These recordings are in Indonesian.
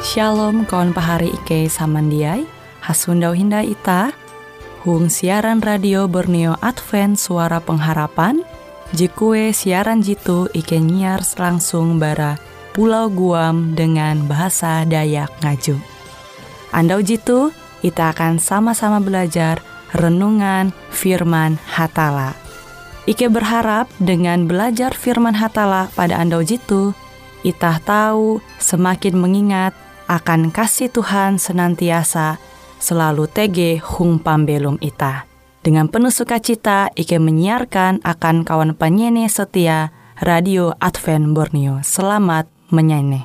Shalom kawan pahari Ike samandiai, hasundau hindai ita, hung siaran radio Borneo Advent Suara Pengharapan, jikue siaran jitu Ike nyiar langsung bara Pulau Guam dengan bahasa Dayak Ngaju. Andau jitu, kita akan sama-sama belajar renungan firman Hatala. Ike berharap dengan belajar firman Hatala pada andau jitu, itah tahu semakin mengingat akan kasih Tuhan senantiasa selalu tege hung pambelum itah. Dengan penuh sukacita, Ike menyiarkan akan kawan penyanyi setia Radio Advent Borneo. Selamat menyanyi.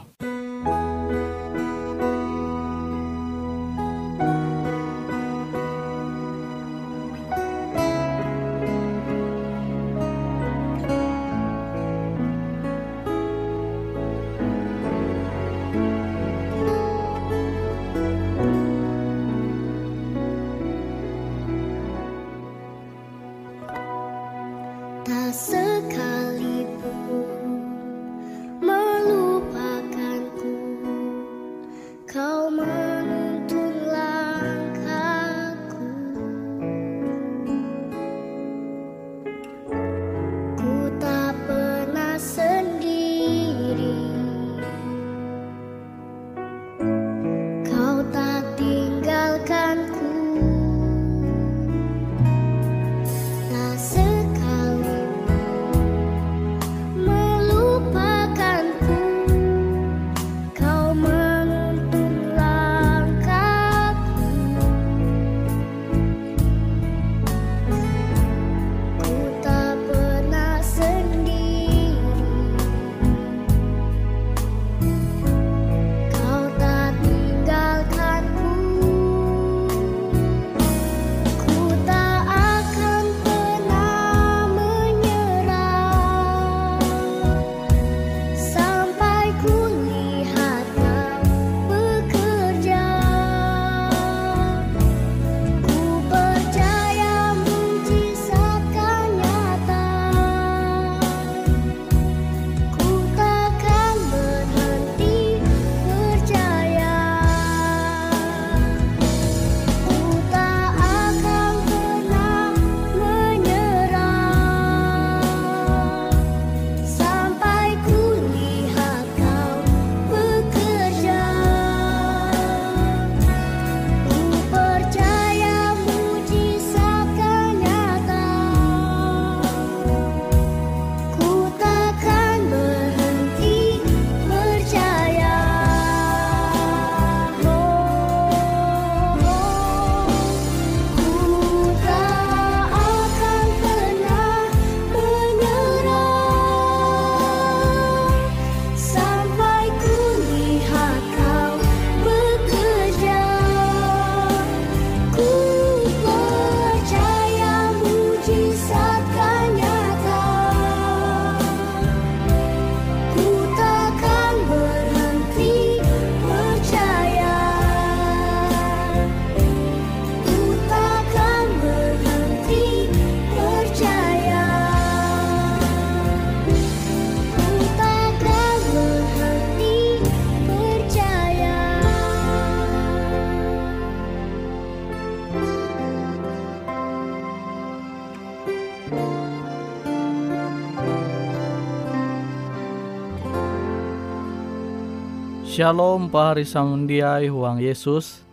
Shalom pahari samundiai huang Yesus.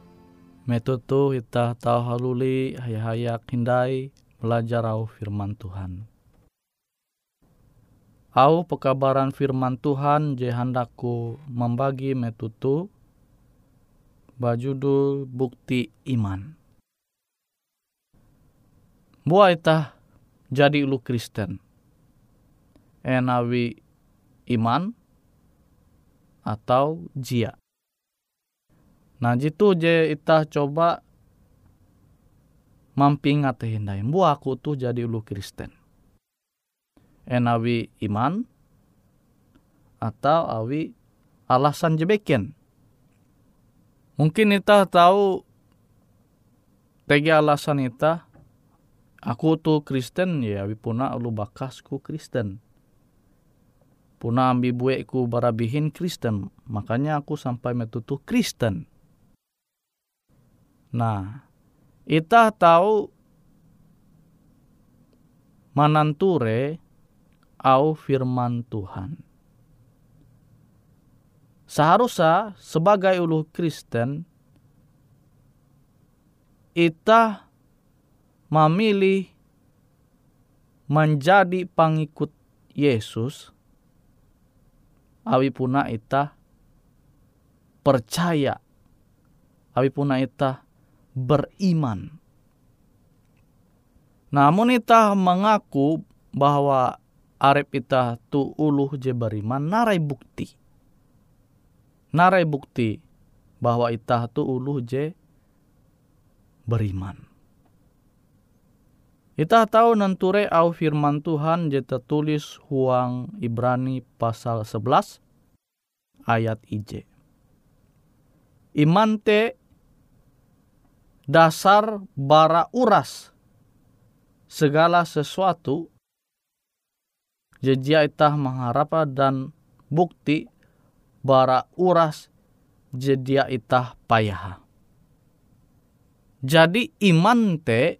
Metutu ita tau haluli hayak hindai belajar au firman Tuhan. Au pekabaran firman Tuhan je handaku membagi metutu bajudul bukti iman. Buat ita jadi ulu Kristen. Enawi iman atau jia. Nah jitu je ita coba mampingat hindai. Bu aku tuh jadi ulu Kristen. Enawi iman atau awi alasan jebeken. Mungkin ita tahu tegi alasan ita aku tuh Kristen ya awi puna ulu bakasku Kristen. Puna ambi bueku barabihin Kristen. Makanya aku sampai metutu Kristen. Nah, ita tahu mananture au firman Tuhan. Seharusnya sebagai ulu Kristen, ita memilih menjadi pengikut Yesus. Awi puna ita percaya. Awi puna ita beriman. Namun ita mengaku bahwa arep ita tu uluh je beriman, narai bukti. Narai bukti bahwa ita tu uluh je beriman. Ita tahu nanture au firman Tuhan je tertulis huang Ibrani pasal 11 ayat IJ. Iman te dasar bara uras segala sesuatu jejia ita mengharap dan bukti bara uras jedia ita payah. Jadi iman te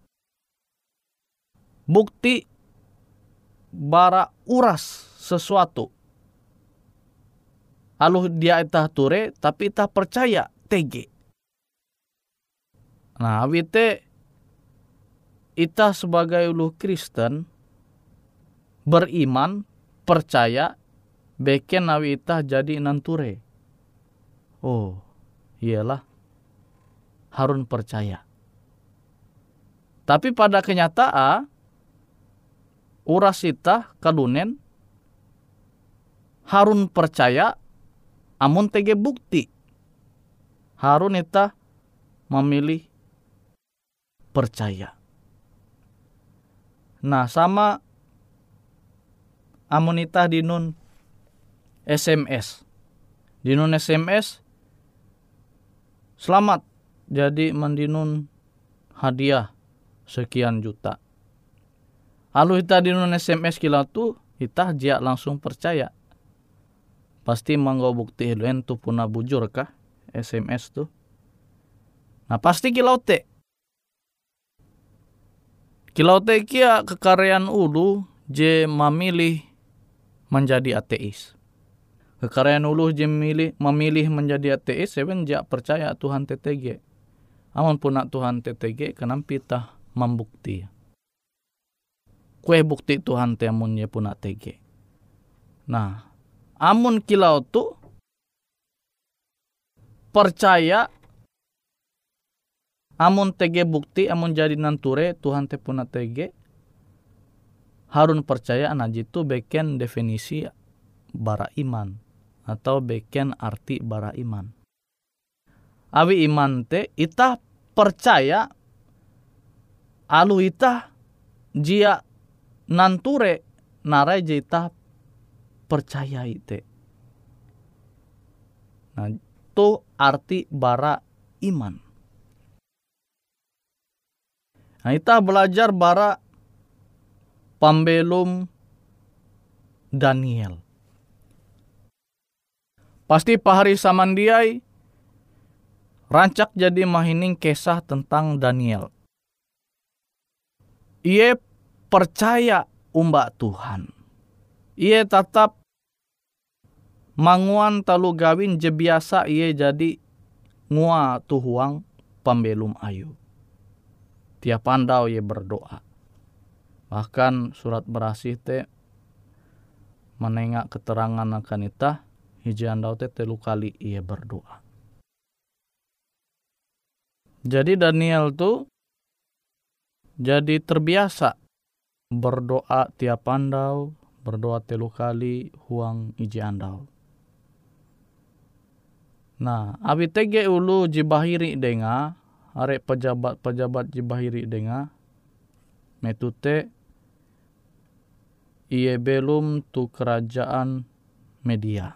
bukti bara uras sesuatu. Aluh dia ita ture tapi ita percaya tege. Nah, awite ita sebagai ulu Kristen beriman, percaya, beken awi ita jadi nanture. Oh, iyalah, harun percaya. Tapi pada kenyataan, uras ita kalunen harun percaya, amun tege bukti. Harun ita memilih percaya. Nah, sama amun ita dinun SMS. Dinun SMS, selamat jadi mendinun hadiah sekian juta. Lalu ita dinun SMS kila tu, ita jia langsung percaya. Pasti manggo bukti hiluen tu puna bujur kah SMS tu. Nah, pasti kilau te. Kilau te kia kekaryaan ulu je memilih menjadi ateis. Kekaryaan ulu je memilih menjadi ateis, even jia percaya Tuhan TTG. Amun puna Tuhan TTG, kenapa kita membukti? Kue bukti Tuhan te amun ye puna TG. Nah, amun kilau tu percaya, amun TG bukti, amun jadi nanture Tuhan te puna TG, harun percaya anajitu beken definisi bara iman atau beken arti bara iman. Awi iman te ita percaya alu ita jia nanture narai je ita percaya ite. Nah, itu arti bara iman. Nah, ita belajar bara pambelum Daniel. Pasti pahari samandiai rancak jadi mahining kisah tentang Daniel. Ia percaya umbak Tuhan. Ia tetap manguan talu gawin je biasa ia jadi ngua tuhuang pambelum ayu. Tiap pandau ia berdoa. Bahkan surat berasih te menengak keterangan akan ita hiji andau te 3 kali ia berdoa. Jadi Daniel tu jadi terbiasa berdoa tiap andau, berdoa 3 kali huang hiji andau. Nah, abi tege ulu jibahiri denga, arek pejabat jibahiri denga, metute iye belum tu kerajaan Media.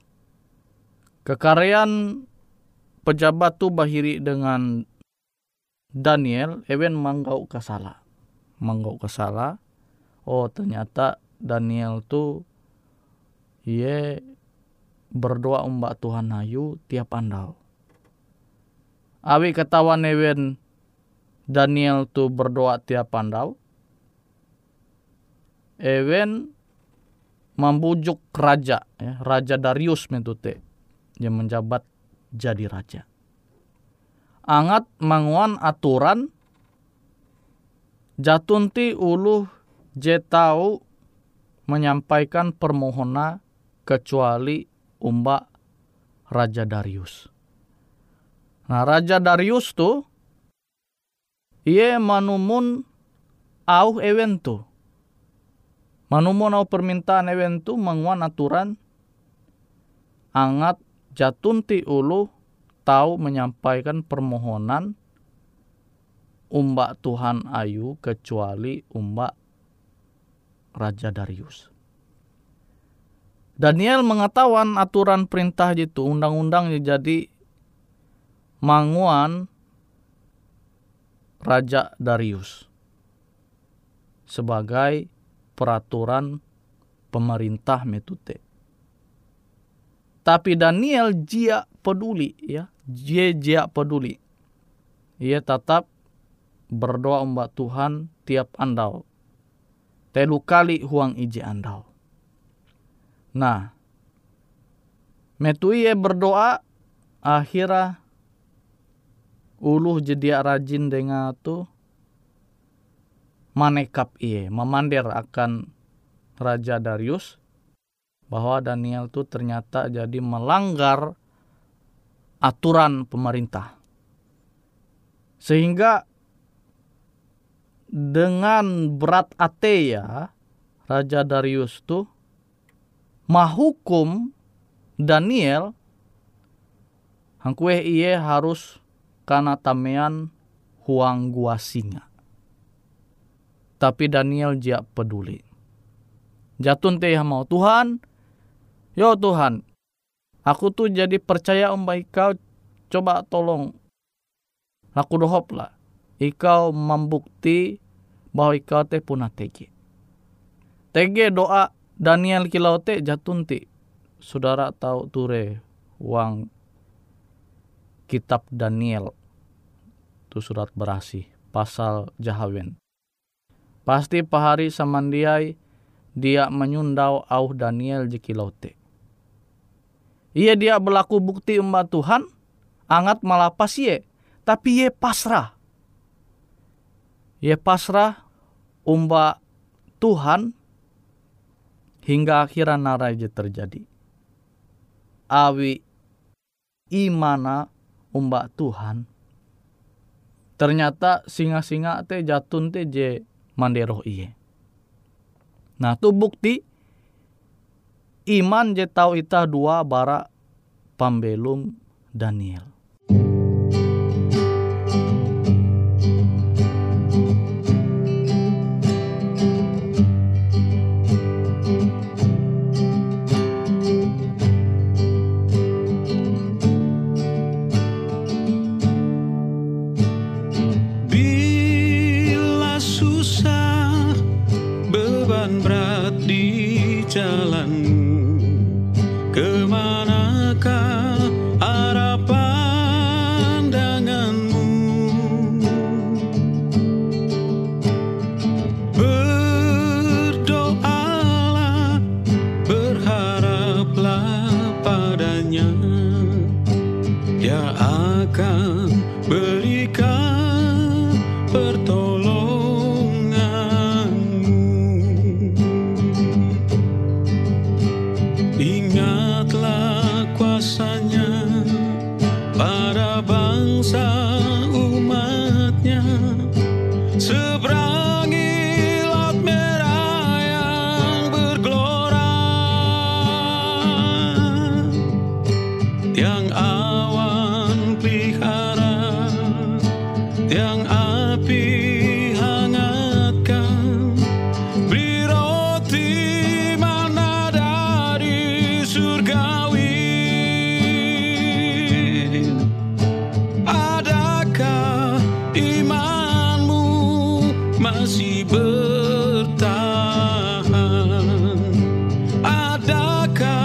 Kekaryaan pejabat tu bahiri dengan Daniel, even manggau kesala. Oh, ternyata Daniel tu Ie berdoa umba Tuhan hayu tiap andau. Awi ketahuan ewen Daniel tu berdoa tiap andau. Ewen membujuk raja, ya, Raja Darius metute yang menjabat jadi raja. Angat manguan aturan jatunti uluh je tau menyampaikan permohonan kecuali umba Raja Darius. Nah, Raja Darius tu ia manumun au ewen tu. Manumun au permintaan ewen tu manguan aturan angat jatunti ulu tahu menyampaikan permohonan umba Tuhan ayu kecuali umba Raja Darius. Daniel mengetahuan aturan perintah itu, undang-undang jadi manguan Raja Darius sebagai peraturan pemerintah metute. Tapi Daniel jia peduli, ya, jia peduli. Ia tetap berdoa umba Tuhan tiap andau. Telu kali huang ije andau. Nah, metu ia berdoa akhirnya uluh jedia rajin dengan tu manekap ia, memander akan Raja Darius bahwa Daniel tu ternyata jadi melanggar aturan pemerintah. Sehingga dengan berat hati ya Raja Darius tu mahukum Daniel hangkue iye harus kana tamean huang gua singa. Tapi Daniel jia peduli. Jatun teh mau Tuhan, yo Tuhan, aku tuh jadi percaya Ikau, coba tolong laku dohop lah. Ikau membukti bahwa Ikau teh punah tege. Tege doa Daniel kilau te jatunti. Saudara tahu ture uang kitab Daniel tu surat berasih pasal jahawen. Pasti pahari samandiai dia menyundau au Daniel jikilau te. Ia dia berlaku bukti umba Tuhan angat malapas ye, tapi ye pasrah. Ye pasrah umba Tuhan hingga akhirnya naraja terjadi. Awi imana umba Tuhan. Ternyata singa-singa te jatun te je manderoh iye. Nah tu bukti iman je tau ita dua bara pambelum Daniel. Masih bertahan, adakah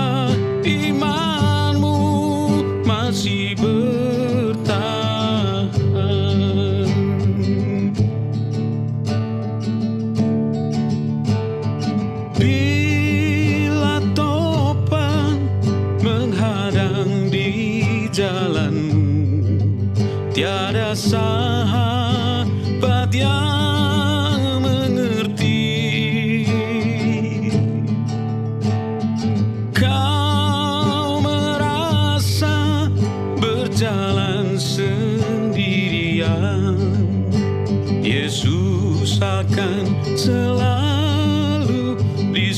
akan selalu di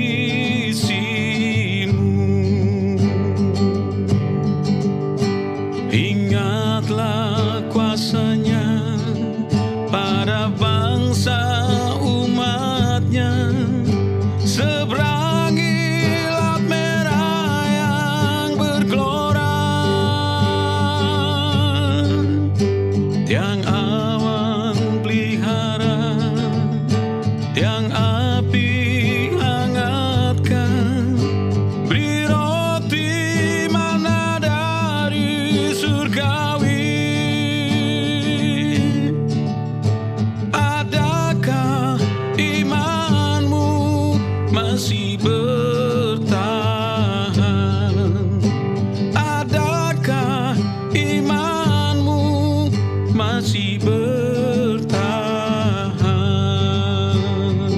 sisimu. Ingatlah kuasanya pada bangsa umatnya, seberangi laut merah yang bergelora. Tiang awan pelihara, tiang api hangatkan, beri roti mana dari surgawi. Adakah imanmu masih bertahan? Adakah imanmu masih bertahan?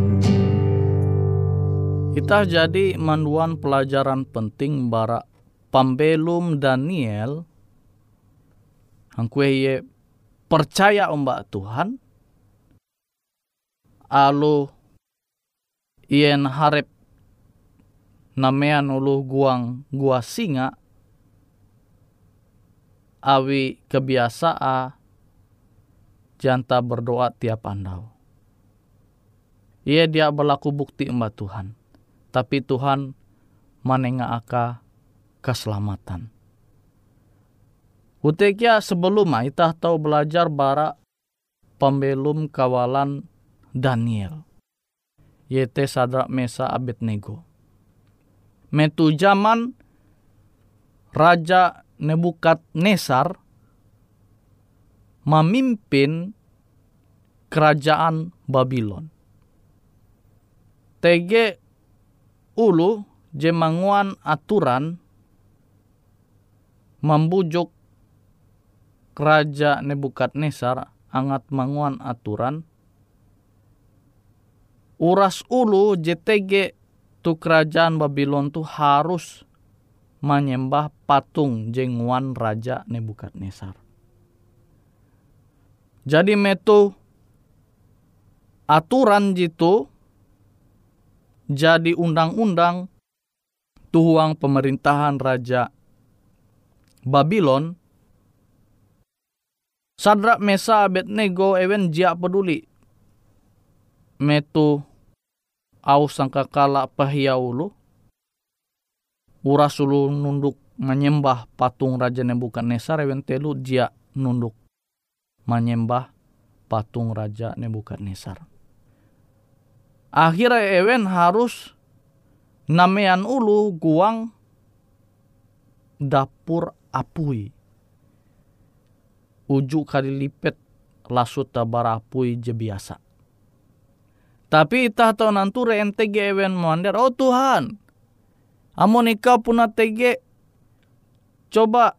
Kita jadi manduan pelajaran penting bara pambelum Daniel. Hangkue ye percaya ombak Tuhan. Alu ien harap namean ulu gua singa. Awi kebiasaa janta berdoa tiap andau. Ia dia berlaku bukti ombak Tuhan. Tapi Tuhan manenga aka keselamatan. Utekia sebelum kita tahu belajar bara pembelum kawalan Daniel. Yaitu Sadrak Mesa Abednego. Metu zaman Raja Nebukadnesar memimpin kerajaan Babylon. TG ulu jemanguan aturan membujuk Raja Nebukadnesar angat manguan aturan uras ulu JTG tu kerajaan Babylon tu harus menyembah patung jenguan Raja Nebukadnesar. Jadi metu aturan jitu jadi undang-undang tuhuang pemerintahan Raja Babylon. Sadrak Mesa Abednego ewen jia peduli metu au sangkakala pahiaulu uras ulu nunduk menyembah patung Raja Nebukadnesar, ewen telu dia nunduk menyembah patung Raja Nebukadnesar. Akhirnya ewen harus namean ulu guang dapur apui. Ujuk kali lipet lasut tabar apui je biasa. Tapi itah tau nanture NTG ewen mandar, oh Tuhan, amun ikau puna TG, coba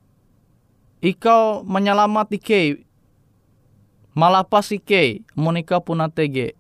ikau menyelamat ike, malapas ike, amun ikau puna TG.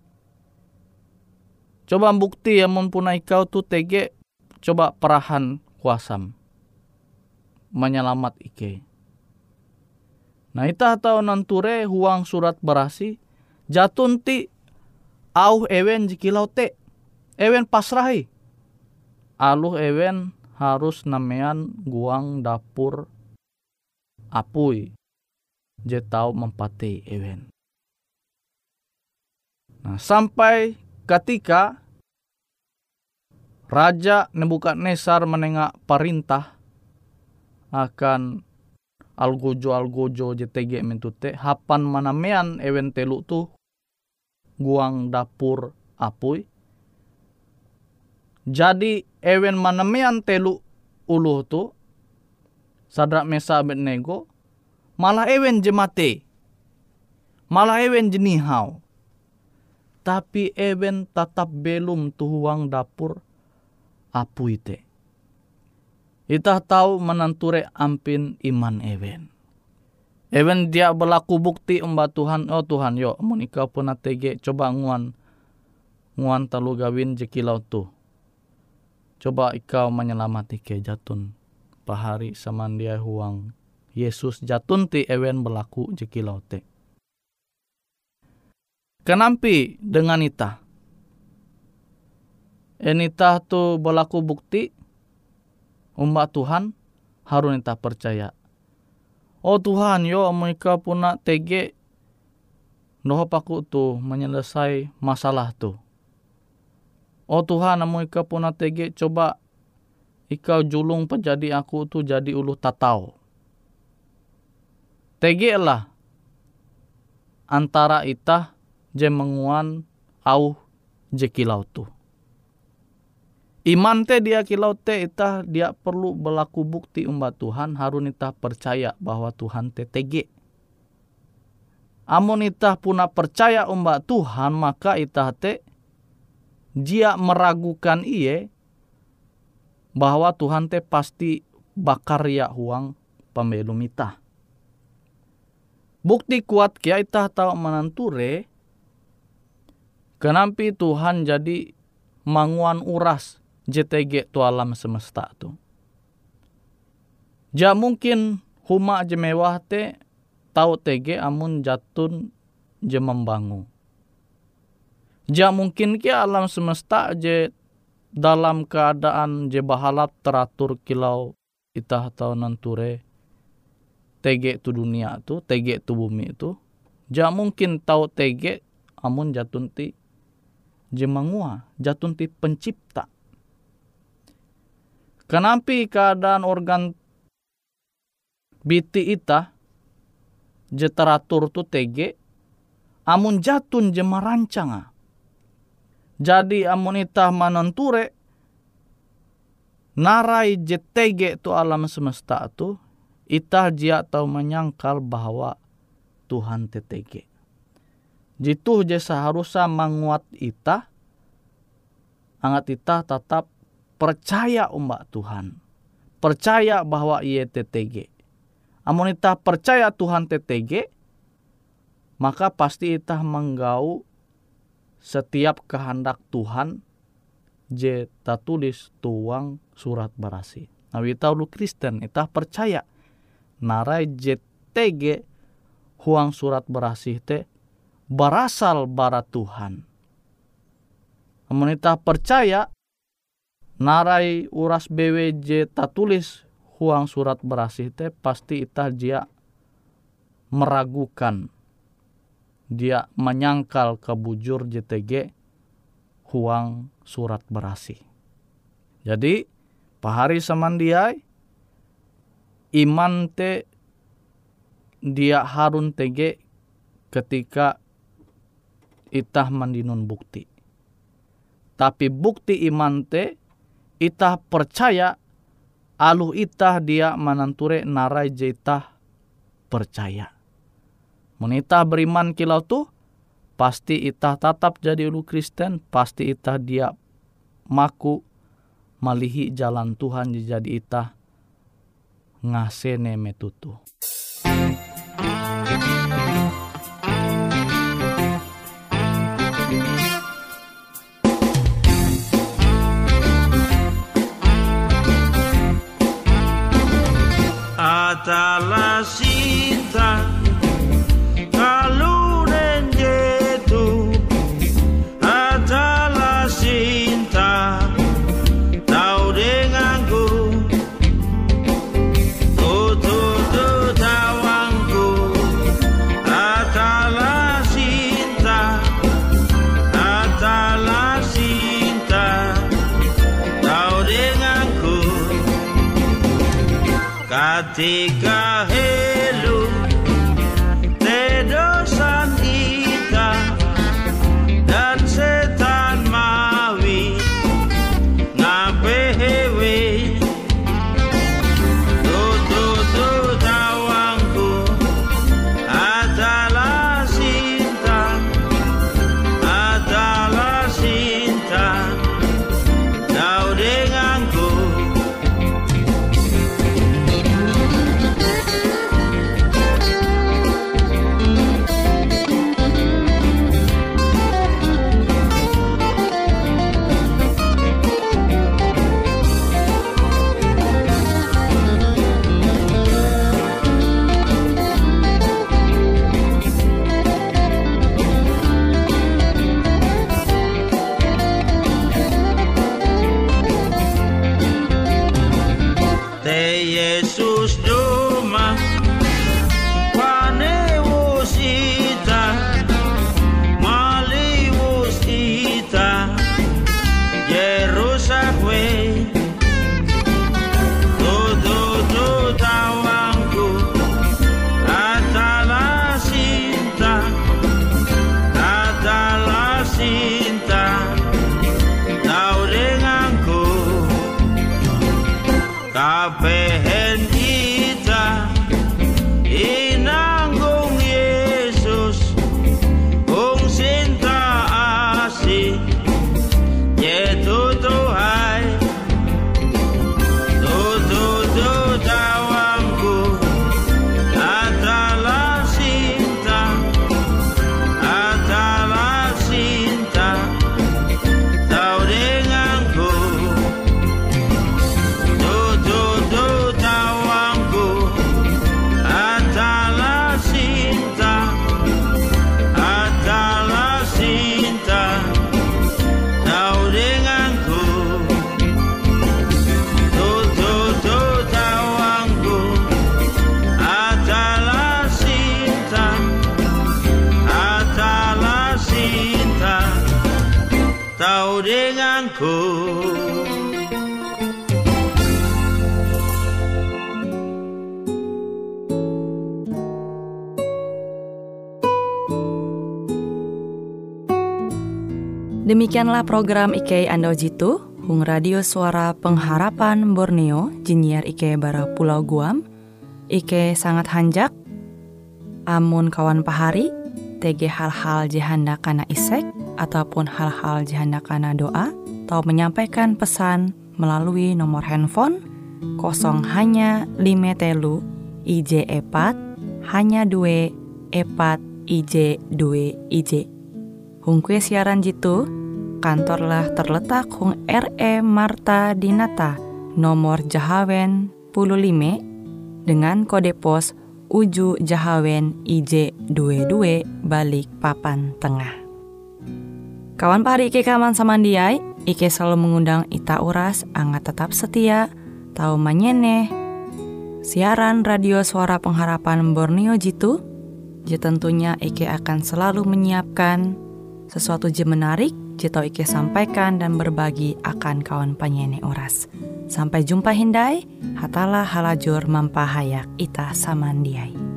Coba bukti amun puna ikau tu TG, coba perahan kuasam, menyelamat ike. Nah itah tau nanture huang surat berasi, jatun ti au ewen jikilau te, ewen pasrahi. Aluh ewen harus namean guang dapur apui. Je tau mempati ewen. Nah sampai ketika Raja Nebukadnesar menengak perintah akan algojo JTG mentute hapan manamean ewen telu tu guang dapur apui. Jadi ewen manamean telu uluh tu Sadrak Mesa Abednego malah ewen jemate, malah ewen jenihau. Tapi ewen tetap belum tuhuang dapur apui te. Itah tahu menanture ampin iman ewen. Ewen dia berlaku bukti umba Tuhan, oh Tuhan yo amun ikau pun atege coba nguan talu gawin jekilau tu. Coba ikau menyelamati ke jatun pahari samandia huang Yesus jatun ti ewen berlaku jekilau te. Kenampi dengan ita? Enita tu berlaku bukti umat Tuhan harus ita percaya. Oh Tuhan, yo mereka puna tege noho paku tu menyelesai masalah tu. Oh Tuhan, mereka puna tege coba ikau julung penjadi aku tu jadi ulu tatau. Tege lah antara ita je menguan au je kilau tu. Iman te dia kilau te ita dia perlu berlaku bukti umat Tuhan harun ita percaya bahwa Tuhan te tege. Amun ita puna percaya umat Tuhan maka ita te dia meragukan iye bahwa Tuhan te pasti bakarya huang pembelum ita. Bukti kuat kia ita tahu menanture kenampi Tuhan jadi manguan uras JTG tu alam semesta tu. Ja mungkin huma je mewah te tau TG amun jatun je membangun. Ja mungkin ke alam semesta je dalam keadaan je bahalap teratur kilau itah tau nanture TG tu dunia tu, TG tu bumi tu. Ja mungkin tau TG amun jatun ti je mangua, jatun ti pencipta. Kenampi keadaan organ biti ita je teratur tu TG amun jatun je merancang. Jadi amun ita mananture narai je TG tu alam semesta tu ita jia tau menyangkal bahwa Tuhan te TG. Jitu je seharusnya menguat ita angat ita tetap percaya umat Tuhan. Percaya bahwa ia TTG. Amun ita percaya Tuhan TTG, maka pasti ita menggau setiap kehendak Tuhan je tulis tuang surat barasi. Nah, ita ulu Kristen, ita percaya narai je TG huang surat barasi te berasal bara Tuhan. Amun ita percaya narai uras BWJ tatulis huang surat berasih te pasti ita dia meragukan, dia menyangkal kebujur JTG huang surat berasih. Jadi pahari samandiai iman te dia harun TG ketika itah mandinun bukti. Tapi bukti iman te itah percaya aluh itah dia mananture narai je itah percaya. Mun itah beriman kilau tu pasti itah tetap jadi ulu Kristen, pasti itah dia maku malihi jalan Tuhan jadi itah ngasene metutu. Atala cinta kalau renjetu atala cinta tahu denganku tutu tawangku atala cinta tahu denganku ketika helu tedosan kita dan setan mawi ngapehewe tutu tawangku adalah cinta kau denganku. apehen ita inanggung Yesus kung sinta asih yetutuhai tutu tawangku atala sinta tau denganku tutu tawangku atala sinta tau denganku tutu tawangku atala sinta tau denganku. Demikianlah program IK Ando Jitu, Hung Radio Suara Pengharapan Borneo, Jinnyar IK Bara Pulau Guam. IK sangat hanjak, amun kawan pahari, TG hal-hal jihanda kana isek, ataupun hal-hal jihanda kana doa, atau menyampaikan pesan melalui nomor handphone 0 hanya 5 telu IJ 4 hanya 2 4 IJ 2 IJ. Hung kue siaran jitu, kantorlah terletak Hung RE Marta Dinata, nomor Jahawen 15 dengan kode pos Uju Jahawen IJ 22 Balik Papan Tengah. Kawan pahari Ike kaman samandiai, Ike selalu mengundang ita uras angga tetap setia, tahu manyeneh siaran radio Suara Pengharapan Borneo jitu. Tentunya Ike akan selalu menyiapkan sesuatu je menarik, jito Ike sampaikan dan berbagi akan kawan penyanyi oras. Sampai jumpa hindai, hatalah halajur mampahayak ita samandiai.